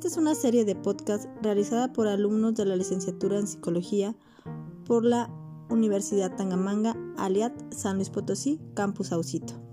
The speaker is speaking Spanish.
Esta es una serie de podcast realizada por alumnos de la licenciatura en Psicología por la Universidad Tangamanga, Aliat, San Luis Potosí, Campus Saucito.